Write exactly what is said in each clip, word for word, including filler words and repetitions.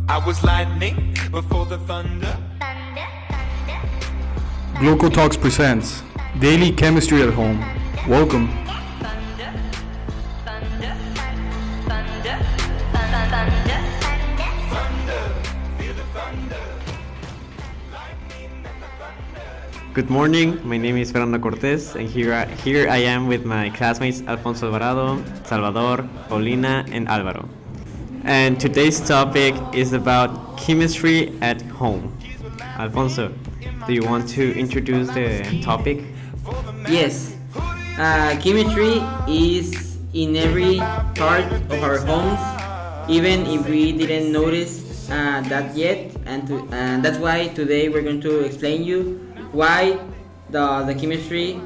I was lightning before the thunder. Gloco Talks presents Daily Chemistry at Home. Welcome. Good morning, my name is Fernando Cortez, and here I, here I am with my classmates Alfonso Alvarado, Salvador, Paulina, and Alvaro. And today's topic is about chemistry at home. Alfonso, do you want to introduce the topic? Yes, uh, chemistry is in every part of our homes, even if we didn't notice uh, that yet, and, to, and that's why today we're going to explain you why the, the chemistry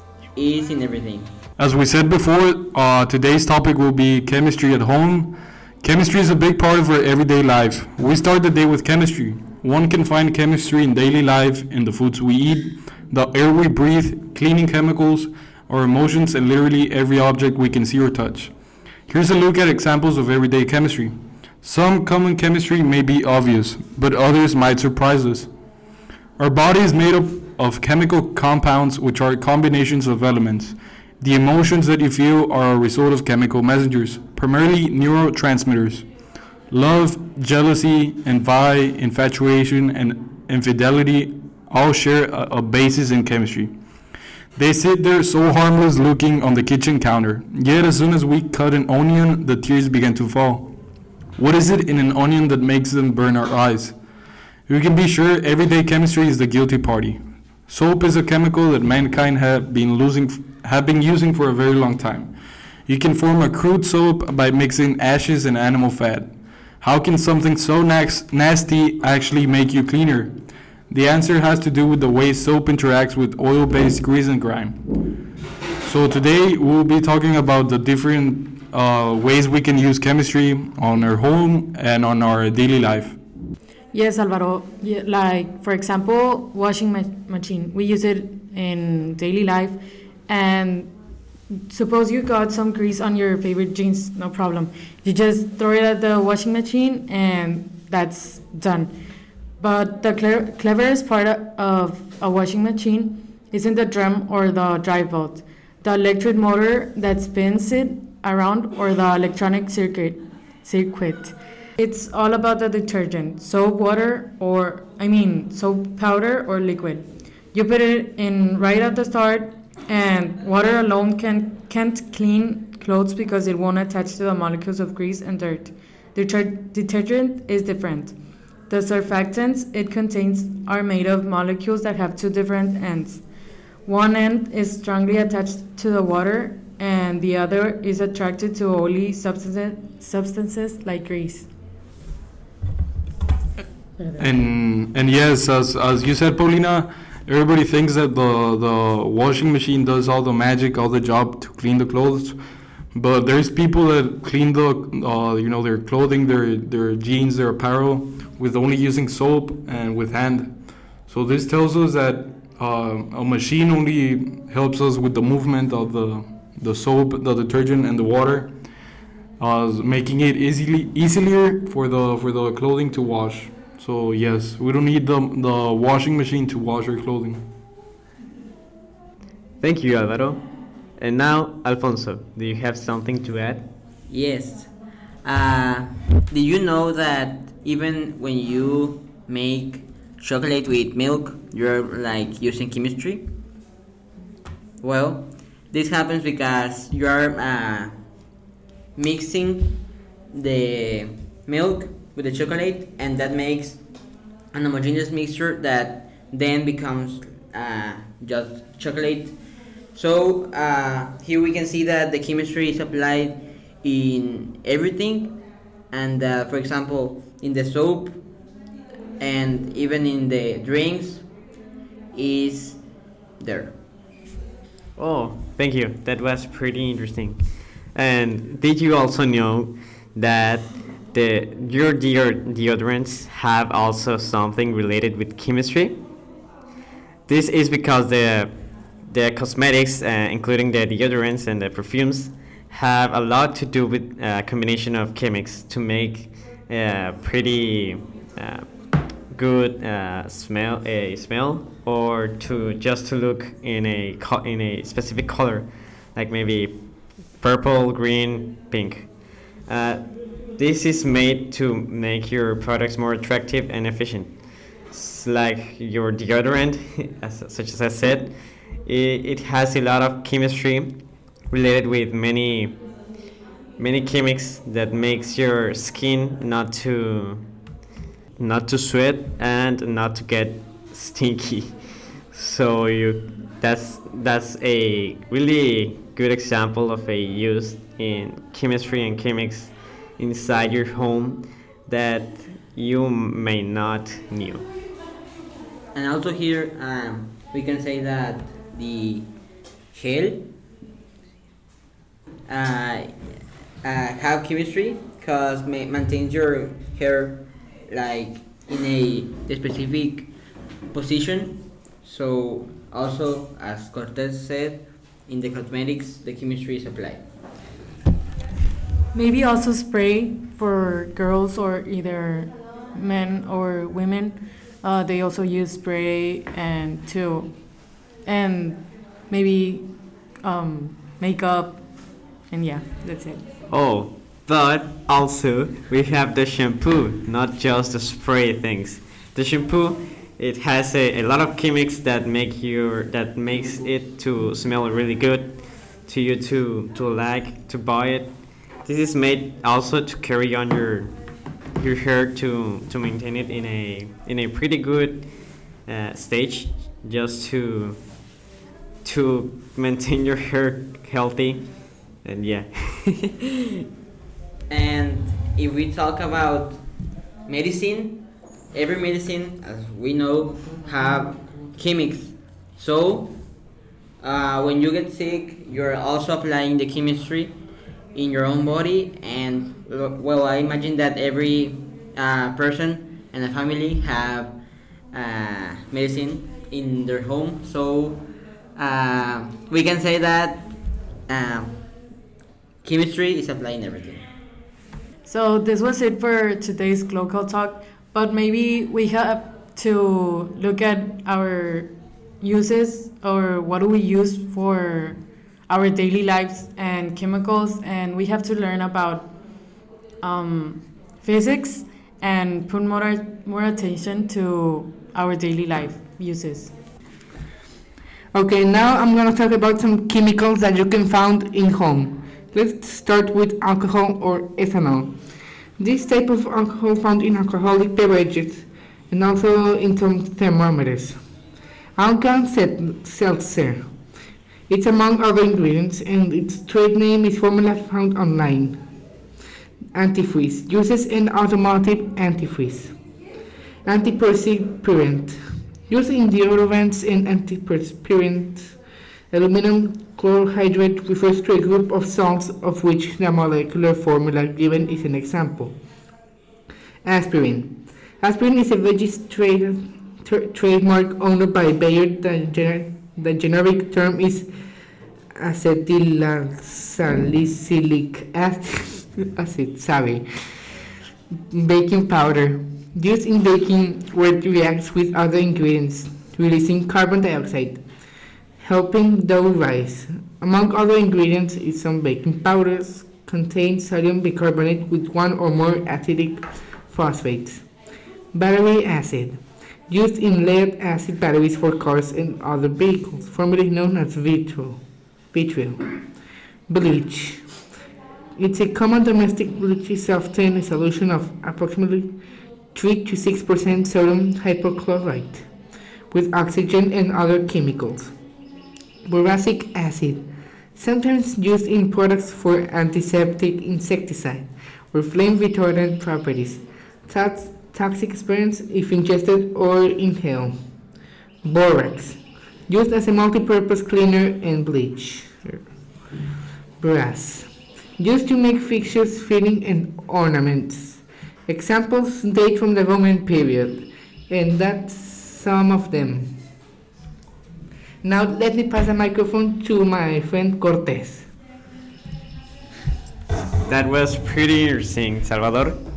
is in everything. As we said before, uh, today's topic will be chemistry at home. Chemistry is a big part of our everyday life. We start the day with chemistry. One can find chemistry in daily life, in the foods we eat, the air we breathe, cleaning chemicals, our emotions, and literally every object we can see or touch. Here's a look at examples of everyday chemistry. Some common chemistry may be obvious, but others might surprise us. Our body is made up of chemical compounds, which are combinations of elements. The emotions that you feel are a result of chemical messengers, primarily neurotransmitters. Love, jealousy, envy, infatuation, and infidelity all share a, a basis in chemistry. They sit there so harmless looking on the kitchen counter, yet as soon as we cut an onion, the tears begin to fall. What is it in an onion that makes them burn our eyes? We can be sure everyday chemistry is the guilty party. Soap is a chemical that mankind have been losing, have been using for a very long time. You can form a crude soap by mixing ashes and animal fat. How can something so nas- nasty actually make you cleaner? The answer has to do with the way soap interacts with oil-based grease and grime. So today we'll be talking about the different uh, ways we can use chemistry on our home and on our daily life. Yes, Alvaro. Yeah, like, for example, washing ma- machine. We use it in daily life. And suppose you got some grease on your favorite jeans, no problem. You just throw it at the washing machine and that's done. But the cle- cleverest part of a washing machine isn't the drum or the drive belt, the electric motor that spins it around, or the electronic circuit. circuit. It's all about the detergent, soap, water, or, I mean, soap powder or liquid. You put it in right at the start, and water alone can, can't clean clothes because it won't attach to the molecules of grease and dirt. Deter- detergent is different. The surfactants it contains are made of molecules that have two different ends. One end is strongly attached to the water, and the other is attracted to oily substances, substances like grease. And and yes, as as you said, Paulina, everybody thinks that the the washing machine does all the magic, all the job to clean the clothes. But there's people that clean the uh, you know their clothing, their their jeans, their apparel with only using soap and with hand. So this tells us that uh, a machine only helps us with the movement of the the soap, the detergent, and the water, uh, making it easily easier for the for the clothing to wash. So yes, we don't need the, the washing machine to wash our clothing. Thank you, Alvaro. And now, Alfonso, do you have something to add? Yes. Uh, do you know that even when you make chocolate with milk, you're like using chemistry? Well, this happens because you're uh, mixing the milk with the chocolate, and that makes an homogeneous mixture that then becomes uh, just chocolate. So uh, here we can see that the chemistry is applied in everything, and uh, for example in the soap and even in the drinks is there. Oh, thank you. That was pretty interesting. And did you also know that the your deod- deodorants have also something related with chemistry? This is because the the cosmetics, uh, including the deodorants and the perfumes, have a lot to do with a combination of chemics to make uh, pretty uh, good uh, smell a smell, or to just to look in a co- in a specific color, like maybe purple, green, pink. Uh, this is made to make your products more attractive and efficient. It's like your deodorant, as, such as I said, it, it has a lot of chemistry related with many many chemics that makes your skin not to not to sweat and not to get stinky. So you that's that's a really good example of a use in chemistry and chemics inside your home that you may not knew. And also here, um, we can say that the gel uh, uh, have chemistry because ma- maintains your hair like in a specific position. So also, as Cortez said, in the cosmetics, the chemistry is applied. Maybe also spray for girls or either men or women. Uh, they also use spray and too, and maybe um, makeup, and yeah, that's it. Oh, but also we have the shampoo, not just the spray things. The shampoo, it has a, a lot of chemics that make your that makes it to smell really good, to you to to like to buy it. This is made also to carry on your your hair to to maintain it in a in a pretty good uh, stage, just to to maintain your hair healthy, and yeah. And if we talk about medicine, every medicine, as we know, have chemics. So uh, when you get sick, you're also applying the chemistry in your own body. And well, I imagine that every uh, person and a family have uh, medicine in their home. So uh, we can say that uh, chemistry is applied in everything. So this was it for today's Glocal Talk, but maybe we have to look at our uses, or what do we use for our daily lives and chemicals, and we have to learn about um, physics and put more, more attention to our daily life uses. Okay, now I'm gonna talk about some chemicals that you can find in home. Let's start with alcohol or ethanol. This type of alcohol found in alcoholic beverages and also in some thermometers. Alka Seltzer. It's among other ingredients, and its trade name is formula found online. Antifreeze. Uses an automotive antifreeze. Antiperspirant. Used in deodorants and antiperspirants. Aluminum chlorohydrate refers to a group of salts of which the molecular formula given is an example. Aspirin. Aspirin is a registered tra- trademark owned by Bayer. The, gener- the generic term is acetylsalicylic acid, acid sorry. Baking powder. Used in baking where it reacts with other ingredients, releasing carbon dioxide, helping dough rise. Among other ingredients is some baking powders contain sodium bicarbonate with one or more acidic phosphates. Battery acid. Used in lead acid batteries for cars and other vehicles, formerly known as vitriol. vitriol. Bleach. It's a common domestic bleach is often a solution of approximately three to six percent sodium hypochlorite with oxygen and other chemicals. Boracic acid, sometimes used in products for antiseptic, insecticide, or flame retardant properties. Tox- toxic experience if ingested or inhaled. Borax, used as a multi-purpose cleaner and bleach. Brass, used to make fixtures, fitting, and ornaments. Examples date from the Roman period, and that's some of them. Now let me pass the microphone to my friend Cortez. That was pretty interesting, Salvador.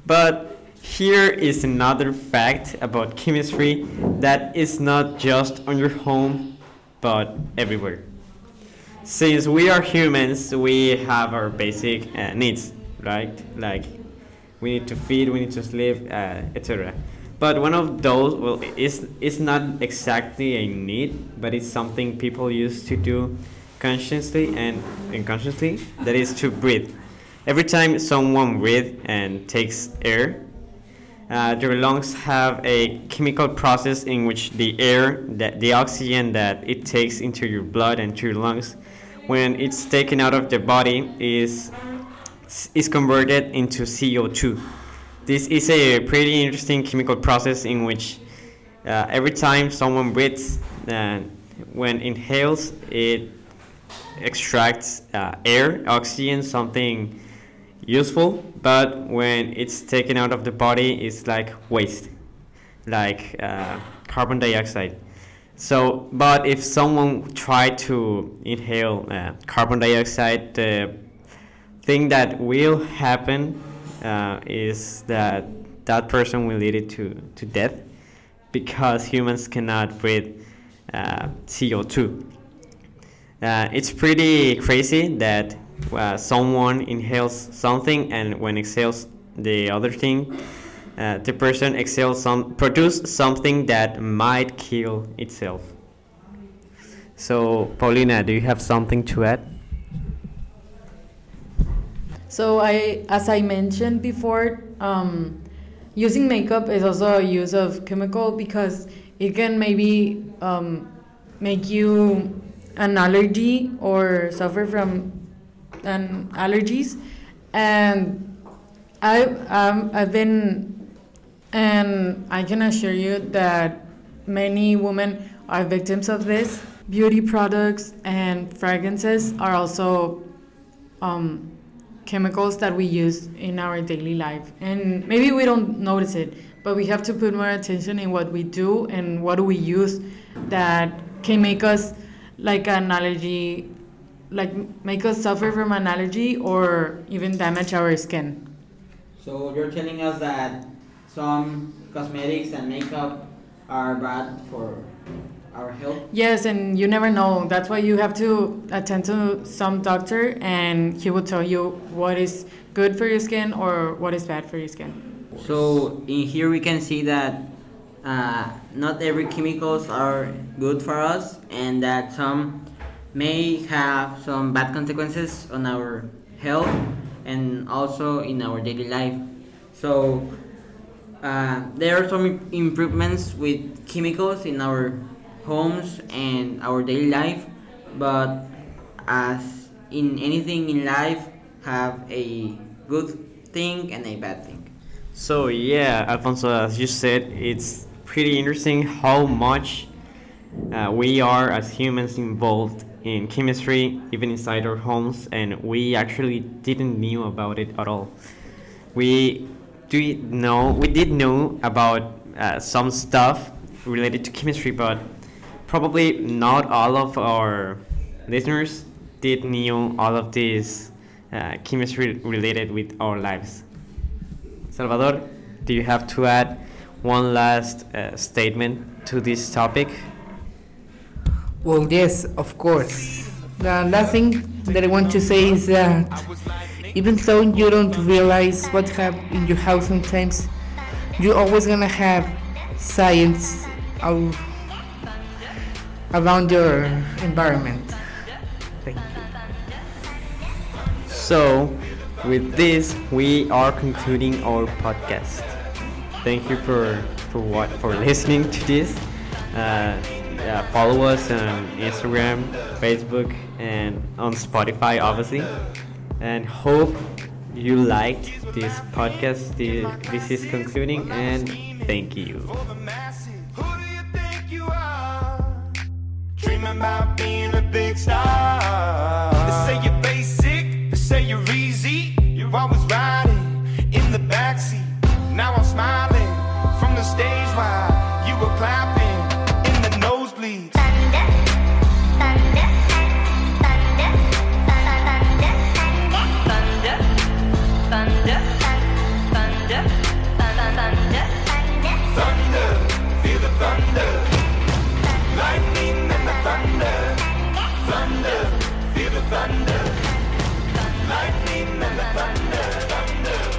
But here is another fact about chemistry that is not just on your home, but everywhere. Since we are humans, we have our basic uh, needs, right? Like we need to feed, we need to sleep, uh, et cetera. But one of those, well, it's, it's not exactly a need, but it's something people used to do consciously and unconsciously, that is to breathe. Every time someone breathes and takes air, uh, their lungs have a chemical process in which the air, that the oxygen that it takes into your blood and to your lungs, when it's taken out of the body, is is converted into C O two. This is a pretty interesting chemical process in which uh, every time someone breathes, uh, when inhales, it extracts uh, air, oxygen, something useful, but when it's taken out of the body, it's like waste, like uh, carbon dioxide. So, but if someone tried to inhale uh, carbon dioxide, the thing that will happen uh, is that that person will lead it to, to death, because humans cannot breathe uh, C O two. Uh, it's pretty crazy that uh, someone inhales something, and when exhales the other thing, uh, the person exhales some produce something that might kill itself. So, Paulina, do you have something to add? So I, as I mentioned before, um, using makeup is also a use of chemical, because it can maybe um, make you an allergy or suffer from an allergies. And I um, I've been, and I can assure you that many women are victims of this. Beauty products and fragrances are also um, chemicals that we use in our daily life, and maybe we don't notice it, but we have to put more attention in what we do and what do we use that can make us like an allergy, like make us suffer from an allergy or even damage our skin. So you're telling us that some cosmetics and makeup are bad for our health? Yes, and you never know. That's why you have to attend to some doctor, and he will tell you what is good for your skin or what is bad for your skin. So in here we can see that uh, not every chemicals are good for us, and that some may have some bad consequences on our health and also in our daily life. So uh, there are some improvements with chemicals in our homes and our daily life, but as in anything in life, have a good thing and a bad thing. So yeah, Alfonso, as you said, it's pretty interesting how much uh, we are as humans involved in chemistry, even inside our homes, and we actually didn't knew about it at all. We do know, we did know about uh, some stuff related to chemistry, but probably not all of our listeners did knew all of this uh, chemistry related with our lives. Salvador, do you have to add one last uh, statement to this topic? Well, yes, of course. The last thing that I want to say is that even though you don't realize what have in your house sometimes, you're always gonna have science out around your environment. Thank you. So, with this, we are concluding our podcast. Thank you for for what for listening to this. Uh, uh, follow us on Instagram, Facebook, and on Spotify, obviously. And hope you liked this podcast. This, this is concluding, and thank you. Who do you think you are? Dreaming about being a big star. They say you're basic, they say you're easy. You're always riding in the backseat. Now I'm smiling from the stage while you were clapping in the nosebleeds. Thunder, thunder, thunder, thunder, thunder, thunder, thunder, thunder. thunder, feel the thunder, lightning and the thunder, thunder.